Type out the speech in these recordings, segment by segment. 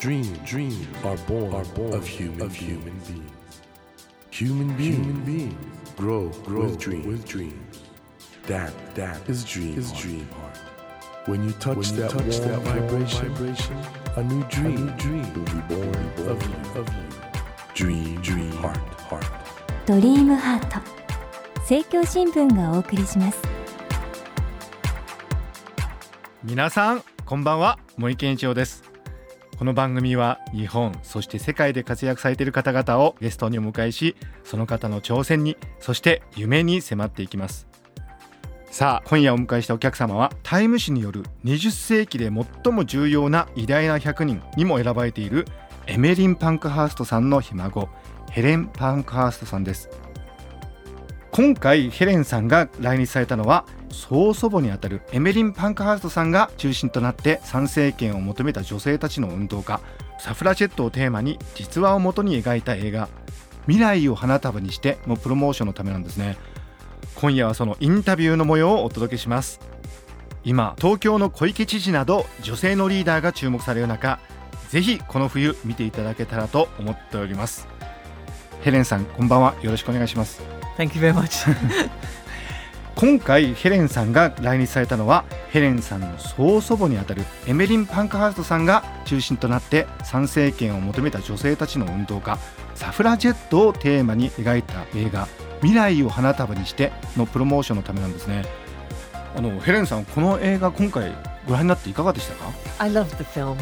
Dreams are born of human beings. Human beings grow with dreams. That is dream heart. When you touch that vibration, a new dream will be born of you. Dream heart. ドリームハート、政教新聞がお送りします。 皆さんこんばんは、森健一郎です。この番組は日本そして世界で活躍されている方々をゲストにお迎えし、その方の挑戦にそして夢に迫っていきます。さあ、今夜お迎えしたお客様はタイム誌による20世紀で最も重要な偉大な100人にも選ばれているエメリン・パンクハーストさんのひ孫、ヘレン・パンクハーストさんです。今回ヘレンさんが来日されたのは、曽祖母にあたるエメリン・パンクハーストさんが中心となって参政権を求めた女性たちの運動家サフラジェットをテーマに実話をもとに描いた映画未来を花束にしてのプロモーションのためなんですね。今夜はそのインタビューの模様をお届けします。今東京の小池知事など女性のリーダーが注目される中、ぜひこの冬見ていただけたらと思っております。ヘレンさんこんばんは、よろしくお願いします。 Thank you very much 今回ヘレンさんが来日されたのは、ヘレンさんの曽祖母にあたるエメリン・パンクハーストさんが中心となって参政権を求めた女性たちの運動家サフラジェットをテーマに描いた映画未来を花束にしてのプロモーションのためなんですね。ヘレンさん、この映画今回ご覧になっていかがでしたか？ I loved the film.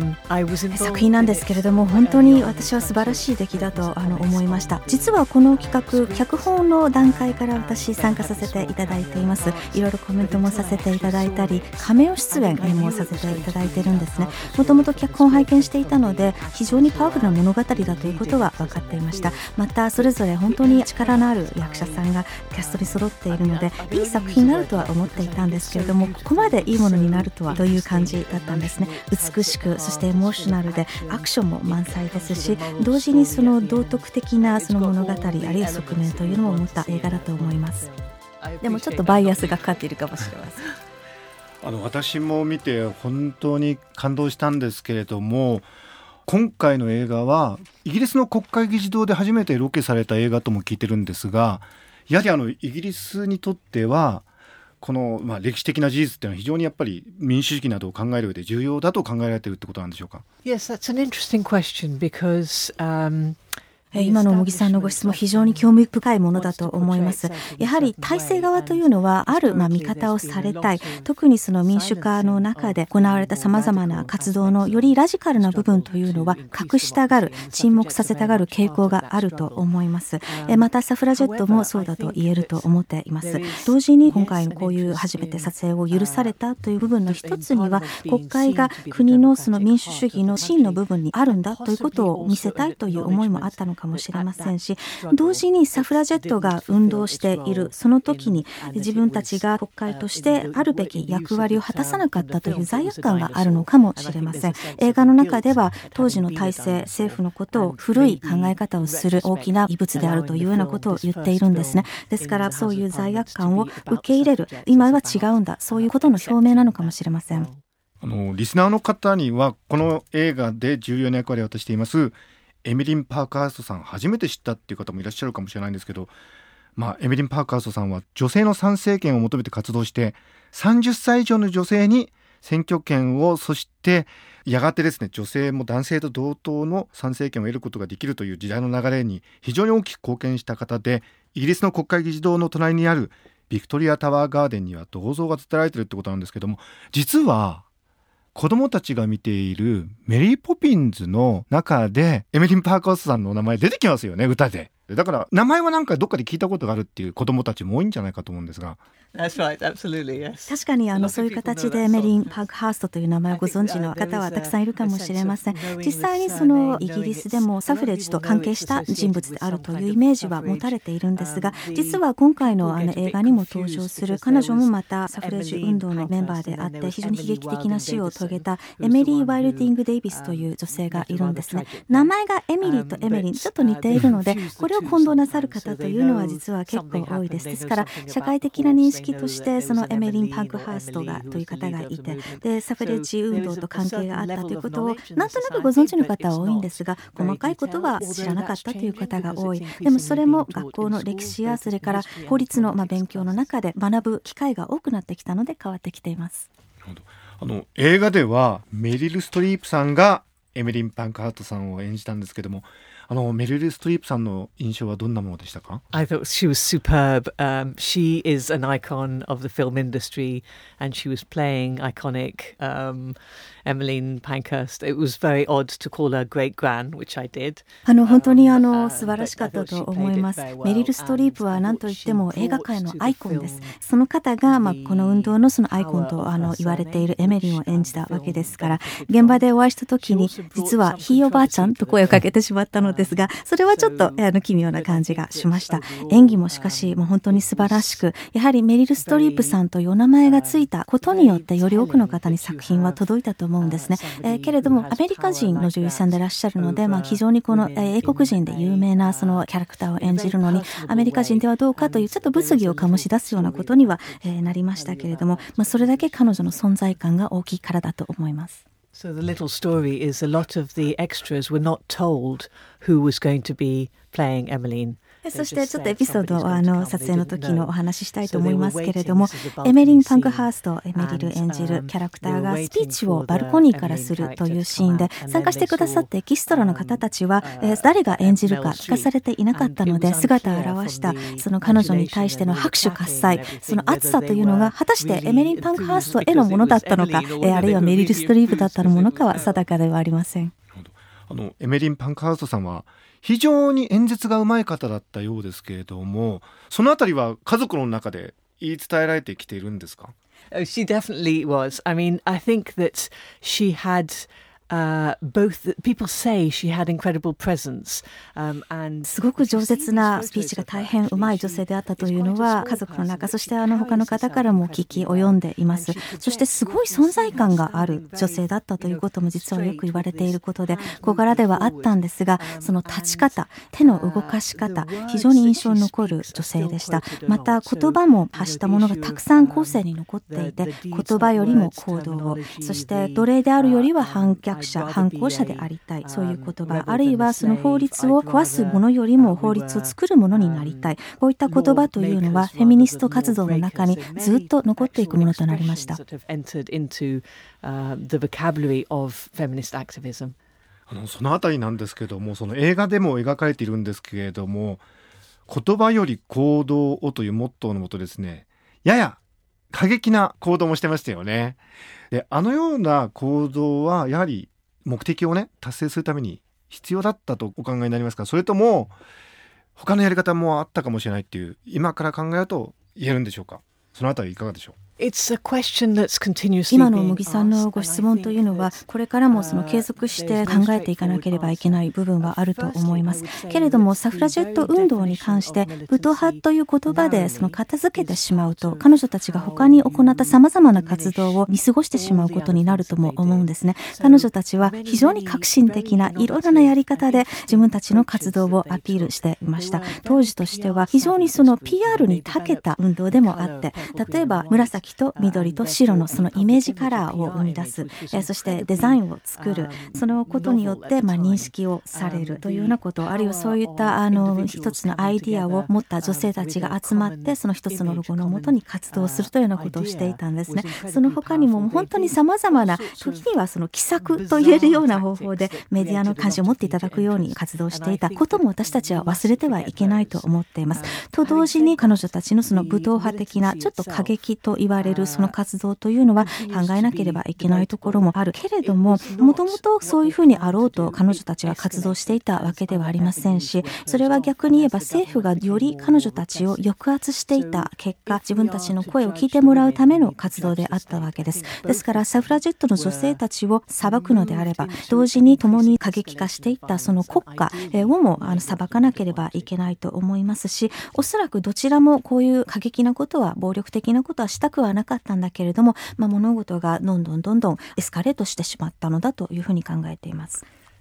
I was involved 作品なんですけれども、本当に私は素晴らしい出来だと思いました。実はこの企画、脚本の段階から私参加させていただいています。いろいろコメントもさせていただいたり、カメオ出演もさせていただいているんですね。もともと脚本を拝見していたので、非常にパワフルな物語だということは分かっていました。またそれぞれ本当に力のある役者さんがキャストに揃っているので、いい作品になるとは思っていたんですけれども、ここまでいいものになるとはという感じだったんですね。美しく、そしてエモーショナルでアクションも満載ですし、同時にその道徳的なその物語、あるいは側面というのも持った映画だと思います。でもちょっとバイアスがかかっているかもしれません。 私も見て本当に感動したんですけれども、今回の映画はイギリスの国会議事堂で初めてロケされた映画とも聞いてるんですが、やはりイギリスにとってはこの、歴史的な事実っていうのは非常にやっぱり民主主義などを考える上で重要だと考えられているってことなんでしょうか？ Yes, that's an interesting question because 今の茂木さんのご質問、非常に興味深いものだと思います。やはり体制側というのはある見方をされたい、特にその民主化の中で行われたさまざまな活動のよりラジカルな部分というのは隠したがる、沈黙させたがる傾向があると思います。またサフラジェットもそうだと言えると思っています。同時に今回のこういう初めて撮影を許されたという部分の一つには、国会が国のその民主主義の真の部分にあるんだということを見せたいという思いもあったのかもしれませんし、同時にサフラジェットが運動しているその時に自分たちが国会としてあるべき役割を果たさなかったという罪悪感があるのかもしれません。映画の中では当時の体制、政府のことを古い考え方をする大きな異物であるというようなことを言っているんですね。ですからそういう罪悪感を受け入れる、今は違うんだ、そういうことの表明なのかもしれません。 リスナーの方にはこの映画で重要な役割を果たしていますエミリン・パークハーストさん初めて知ったっていう方もいらっしゃるかもしれないんですけど、エミリン・パークハーストさんは女性の参政権を求めて活動して、30歳以上の女性に選挙権を、そしてやがてですね、女性も男性と同等の参政権を得ることができるという時代の流れに非常に大きく貢献した方で、イギリスの国会議事堂の隣にあるビクトリアタワーガーデンには銅像が建てられているってことなんですけども、実は子供たちが見ているメリーポピンズの中でエメリン・パークハーストさんの名前出てきますよね、歌で。だから名前はなんかどっかで聞いたことがあるっていう子供たちも多いんじゃないかと思うんですが。 That's right, absolutely, yes. 確かにそういう形でメリン・パークハーストという名前をご存知の方はたくさんいるかもしれません。実際にそのイギリスでもサフレッジと関係した人物であるというイメージは持たれているんですが、実は今回の映画にも登場する彼女もまたサフレッジ運動のメンバーであって、非常に悲劇的な死を遂げたエメリー・ワイルディング・デイビスという女性がいるんですね。名前がエミリーとエメリンちょっと似ているので、これをを混同なさる方というのは実は結構多いです。ですから社会的な認識としてそのエメリン・パンクハーストがという方がいて、でサフレッジ運動と関係があったということをなんとなくご存知の方は多いんですが、細かいことは知らなかったという方が多い。でもそれも学校の歴史やそれから法律の勉強の中で学ぶ機会が多くなってきたので変わってきています。 映画ではメリル・ストリープさんがエメリン・パンクハーストさんを演じたんですけども、メリル・ストリープさんの印象はどんなものでしたか？ I thought she was superb. She is an icon of the film industry, and she was playing iconic Emmeline Pankhurst. It was very odd to call her great gran, which I did. 本当に素晴らしかったと思います。メリル・ストリープは何といっても映画界のアイコンです。その方が、この運動のそのアイコンと言われているエメリンを演じたわけですから、現場でお会いした時に実はひいおばあちゃんと声をかけてしまったのですが、それはちょっと奇妙な感じがしました。演技もしかしもう本当に素晴らしく、やはりメリル・ストリープさんというお名前がついたことによってより多くの方に作品は届いたと思うんですね。けれどもアメリカ人の女優さんでいらっしゃるので、非常にこの英国人で有名なそのキャラクターを演じるのにアメリカ人ではどうかというちょっと物議を醸し出すようなことにはなりましたけれども、それだけ彼女の存在感が大きいからだと思います。 So the little story is a lot of the extras were not told who was going to be playing Emmeline. そしてちょっとエピソードを撮影の時のお話ししたいと思いますけれども、エメリン・パンクハースト、メリル演じるキャラクターがスピーチをバルコニーからするというシーンで、参加してくださったエキストラの方たちは誰が演じるか聞かされていなかったので、姿を現したその彼女に対しての拍手喝采、その熱さというのが果たしてエメリン・パンクハーストへのものだったのか、あるいはメリル・ストリープだったのものかは定かではありません。 エメリン・パンクハーストさんは非常に演説がうまい方だったようですけれども、そのあたりは家族の中で言い伝えられてきているんですか？ Oh, she definitely was. I mean, I think that she had...both people say she had incredible presence, and すごく饒舌なスピーチが大変うまい女性であったというのは家族の中、そして他の方からも聞き及んでいます。そしてすごい存在感がある女性だったということも実はよく言われていることで小柄ではあったんですが、その立ち方、手の動かし方、非常に印象に残る女性でした。また言葉も発したものがたくさん後世に残っていて、言葉よりも行動を、そして奴隷であるよりは反抗者でありたい、そういう言葉、あるいはその法律を壊すものよりも法律を作るものになりたい、こういった言葉というのはフェミニスト活動の中にずっと残っていくものとなりました。 そのあたりなんですけども、その映画でも描かれているんですけれども、言葉より行動をというモットーのもとですね、やや過激な行動もしてましたよね。で、ような行動はやはり目的をね達成するために必要だったとお考えになりますか？それとも他のやり方もあったかもしれないっていう今から考えると言えるんでしょうか？そのあたりいかがでしょう？ 今の茂木さんのご質問というのはこれからもその継続して考えていかなければいけない部分はあると思います。けれどもサフラジェット運動に関して武闘派という言葉でその片付けてしまうと、彼女たちが他に行ったさまざまな活動を見過ごしてしまうことになるとも思うんですね。彼女たちは非常に革新的ないろいろなやり方で自分たちの活動をアピールしていました。当時としては非常にその PR に長けた運動でもあって、例えば紫と緑と白のそのイメージカラーを生み出す、そしてデザインを作る、そのことによって認識をされるというようなこと、あるいはそういった一つのアイディアを持った女性たちが集まってその一つのロゴのもとに活動するというようなことをしていたんですね。その他にも本当にさまざまな、時にはその奇策と言えるような方法でメディアの関心を持っていただくように活動していたことも私たちは忘れてはいけないと思っています。と同時に彼女たちのその武闘派的なちょっと過激と言われるその活動というのは考えなければいけないところもあるけれども、もともとそういうふうにあろうと彼女たちが活動していたわけではありませんし、それは逆に言えば政府がより彼女たちを抑圧していた結果、自分たちの声を聞いてもらうための活動であったわけです。ですからサフラジェットの女性たちを裁くのであれば、同時に共に過激化していったその国家をも裁かなければいけないと思いますし、おそらくどちらもこういう過激なことは、暴力的なことはしたくはなかったんだけれども、物事がどんどんエスカレートしてしまったのだというふうに考えています。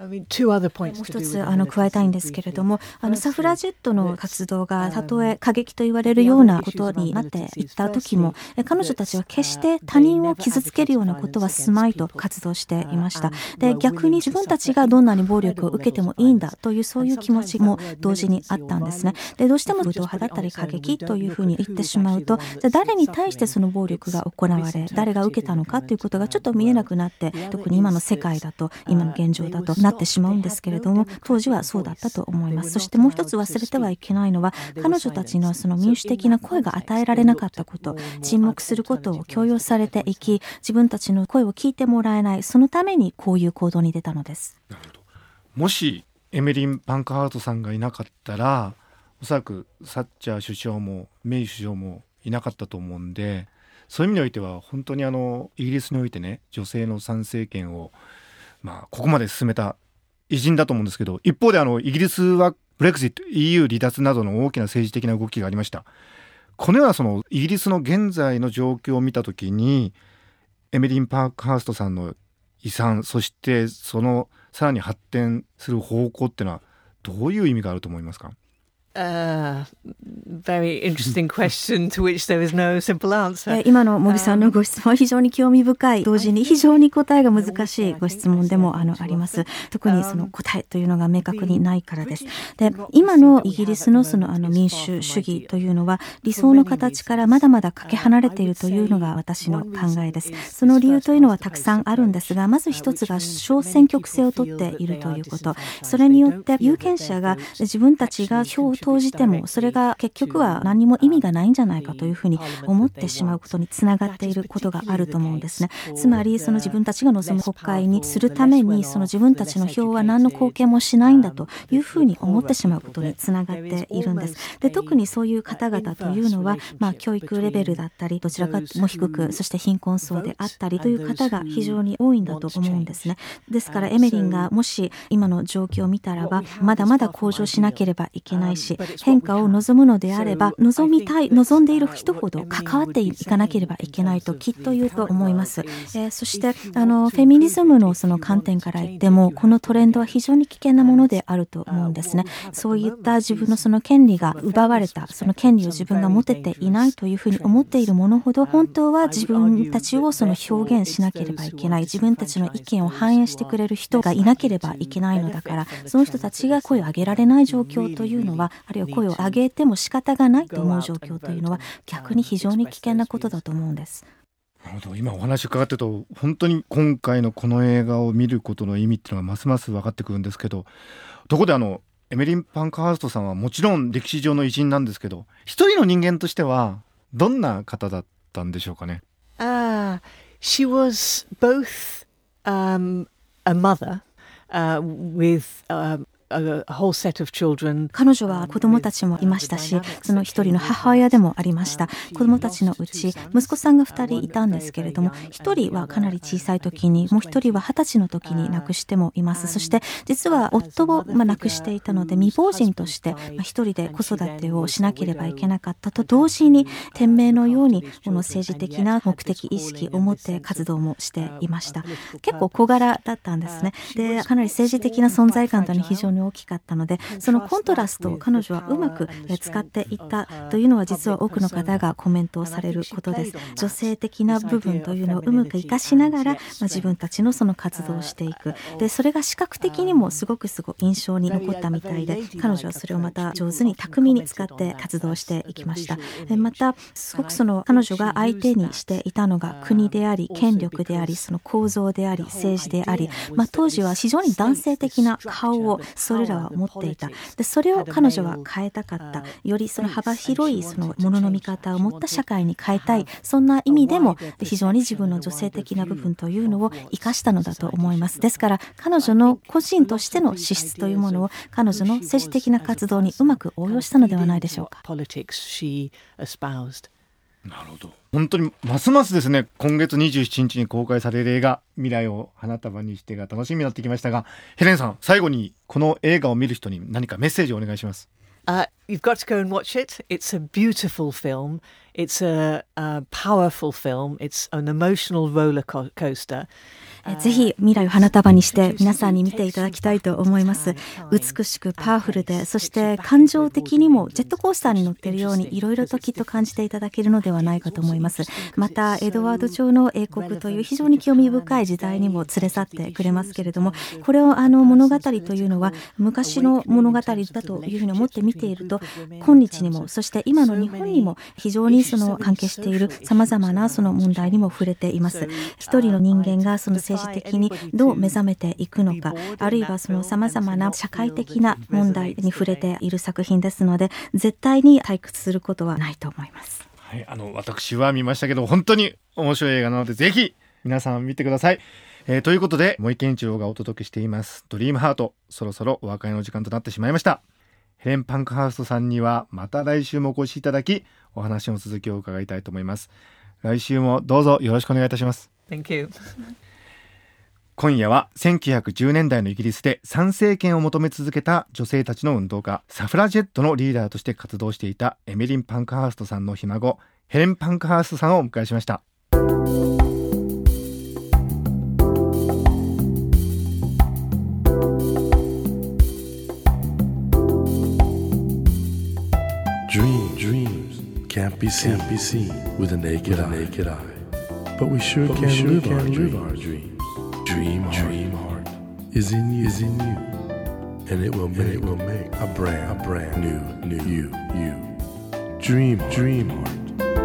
もう一つ加えたいんですけれども、サフラジェットの活動がたとえ過激と言われるようなことになっていった時も、彼女たちは決して他人を傷つけるようなことはすまいと活動していました。で、逆に自分たちがどんなに暴力を受けてもいいんだというそういう気持ちも同時にあったんですね。で、どうしても武闘派だったり過激というふうに言ってしまうと、じゃあ誰に対してその暴力が行われ、誰が受けたのかということがちょっと見えなくなって、特に今の世界だと、今の現状だとなってしまうんですけれども、当時はそうだったと思います。そしてもう一つ忘れてはいけないのは、彼女たちのその民主的な声が与えられなかったこと、沈黙することを強要されていき、自分たちの声を聞いてもらえない、そのためにこういう行動に出たのです。 なるほど。もしエメリン・パンクハートさんがいなかったら、おそらくサッチャー首相もメイ首相もいなかったと思うんで、そういう意味においては本当にイギリスにおいてね、女性の参政権をここまで進めた偉人だと思うんですけど、一方でイギリスはブレクジット、 EU 離脱などの大きな政治的な動きがありました。このようなそのイギリスの現在の状況を見たときに、エメリン・パークハーストさんの遺産、そしてそのさらに発展する方向っていうのはどういう意味があると思いますか ？Very interesting question to which there is no simple answer. 今の茂木さんのご質問は非常に興味深い、同時に非常に答えが難しいご質問でもあります。特にその答えというのが明確にないからです。で、今のイギリスのその民主主義というのは理想の形からまだまだかけ離れているというのが私の考えです。その理由というのはたくさんあるんですが、まず一つが小選挙区制を取っているということ。それによって有権者が自分たちが票を投じてもそれが結局は何も意味がないんじゃないかというふうに思ってしまうことにつながっていることがあると思うんですね。つまりその自分たちが望む国会にするために、その自分たちの票は何の貢献もしないんだというふうに思ってしまうことにつながっているんです。で、特にそういう方々というのは、教育レベルだったりどちらかも低く、そして貧困層であったりという方が非常に多いんだと思うんですね。ですからエメリンがもし今の状況を見たらば、まだまだ向上しなければいけないし、変化を望むのであれば、望んでいる人ほど関わっていかなければいけないときっと言うと思います。そしてフェミニズムのその観点から言っても、このトレンドは非常に危険なものであると思うんですね。そういった自分のその権利が奪われた、その権利を自分が持てていないというふうに思っているものほど、本当は自分たちをその表現しなければいけない、自分たちの意見を反映してくれる人がいなければいけないのだから、その人たちが声を上げられない状況というのは、あるいは声を上げても仕方がないと思う状況というのは、逆に非常に危険なことだと思うんです。 なるほど。今お話伺ってると、本当に今回のこの映画を見ることの意味っていうのがますます分かってくるんですけど、ところでエメリン・パンクハーストさんはもちろん歴史上の偉人なんですけど、一人の人間としてはどんな方だったんでしょうかね。 She was both a mother with a whole set of children. 彼女は子供たちもいましたし、その一人の母親でもありました。子供たちのうち息子さんが2人いたんですけれども、1人はかなり小さい時に、もう1人は20歳の時に亡くしてもいます。そして実は夫を亡くしていたので、未亡人として1人で子育てをしなければいけなかったと同時に、天命のようにこの政治的な目的意識を持って活動もしていました。結構小柄だったんですね。で、かなり政治的な存在感というのは非常に大きかったので、そのコントラストを彼女はうまく使っていったというのは、実は多くの方がコメントをされることです。女性的な部分というのをうまく活かしながら、自分たちのその活動をしていく。で、それが視覚的にもすごく印象に残ったみたいで、彼女はそれをまた上手に巧みに使って活動していきました。またすごく彼女が相手にしていたのが国であり、権力であり、その構造であり、政治であり、当時は非常に男性的な顔をそれらは持っていた。で、それを彼女は変えたかった。よりその幅広いものの見方を持った社会に変えたい。そんな意味でも非常に自分の女性的な部分というのを生かしたのだと思います。ですから彼女の個人としての資質というものを彼女の政治的な活動にうまく応用したのではないでしょうか。 なるほど。本当にますますですね、今月27日に公開される映画未来を花束にしてが楽しみになってきましたが、ヘレンさん、最後にこの映画を見る人に何かメッセージをお願いします。 You've got to go and watch it. It's a beautiful film. It's a powerful film. It's an emotional roller coaster. ぜひ未来を花束にして皆さんに見ていただきたいと思います。美しくパワフルで、そして感情的にもジェットコースターに乗っているようにいろいろときっと感じていただけるのではないかと思います。またエドワード朝の英国という非常に興味深い時代にも連れ去ってくれますけれども、これを物語というのは昔の物語だというふうに思って見ていると、今日にもそして今の日本にも非常にその関係している様々なその問題にも触れています。一人の人間がその政治的にどう目覚めていくのか、あるいはその様々な社会的な問題に触れている作品ですので、絶対に退屈することはないと思います。 はい、私は見ましたけど本当に面白い映画なのでぜひ皆さん見てください。ということで森健一郎がお届けしていますドリームハート、そろそろお別れの時間となってしまいました。ヘレン・パンクハーストさんにはまた来週もお越しいただき、お話の続きを伺いたいと思います。来週もどうぞよろしくお願いいたします。 Thank you. 今夜は1910年代のイギリスで参政権を求め続けた女性たちの運動家、サフラジェットのリーダーとして活動していたエメリン・パンクハーストさんのひ孫、ヘレン・パンクハーストさんをお迎えしました。 Dreams can't be seen with a naked eye. But we sure can live our dreams. Dream heart is in you, and it will make a brand new you. Dream heart.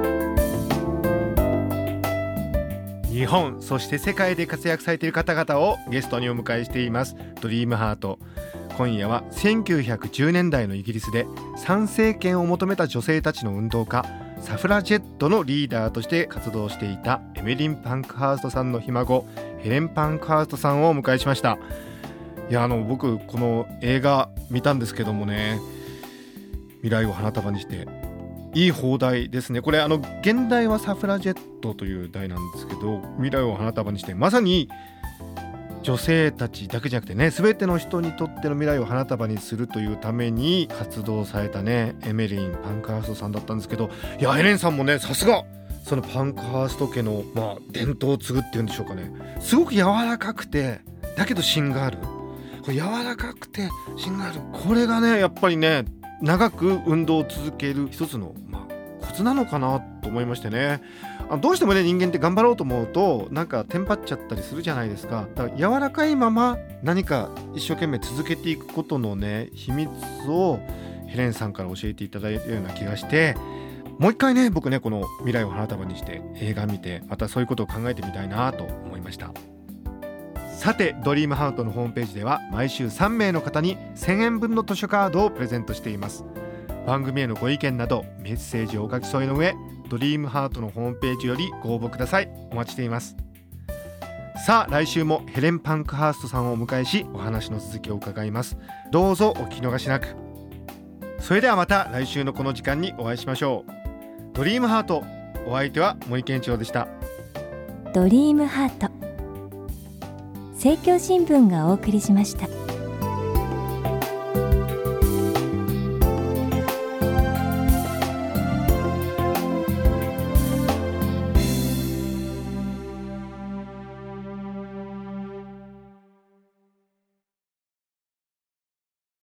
日本そして世界で活躍されている方々をゲストにお迎えしていますドリームハート。今夜は1910年代のイギリスで参政権を求めた女性たちの運動家、サフラジェットのリーダーとして活動していたエメリン・パンクハーストさんのひ孫、ヘレン・パンクハーストさんをお迎えしました。いや僕この映画見たんですけどもね、未来を花束にしていい放題ですね。これ現代はサフラジェットという題なんですけど、未来を花束にしてまさに女性たちだけじゃなくてね、全ての人にとっての未来を花束にするというために活動されたねエメリン・パンクハーストさんだったんですけど、いやヘレンさんもね、さすがそのパンクハースト家の伝統を継ぐっていうんでしょうかね。すごく柔らかくてだけど芯がある、これ柔らかくて芯がある、これがねやっぱりね長く運動を続ける一つのコツなのかなと思いましてね。どうしてもね人間って頑張ろうと思うとなんかテンパっちゃったりするじゃないですか。だから柔らかいまま何か一生懸命続けていくことのね秘密をヘレンさんから教えていただいたような気がして、もう一回ね僕ねこの未来を花束にして映画見てまたそういうことを考えてみたいなと思いました。さてドリームハートのホームページでは毎週3名の方に1000円分の図書カードをプレゼントしています。番組へのご意見などメッセージをお書き添えの上、ドリームハートのホームページよりご応募ください。お待ちしています。さあ来週もヘレン・パンクハーストさんをお迎えしお話の続きを伺います。どうぞお聞き逃しなく。それではまた来週のこの時間にお会いしましょう。ドリームハート、お相手は森健一郎でした。 ドリームハート、政教新聞がお送りしました。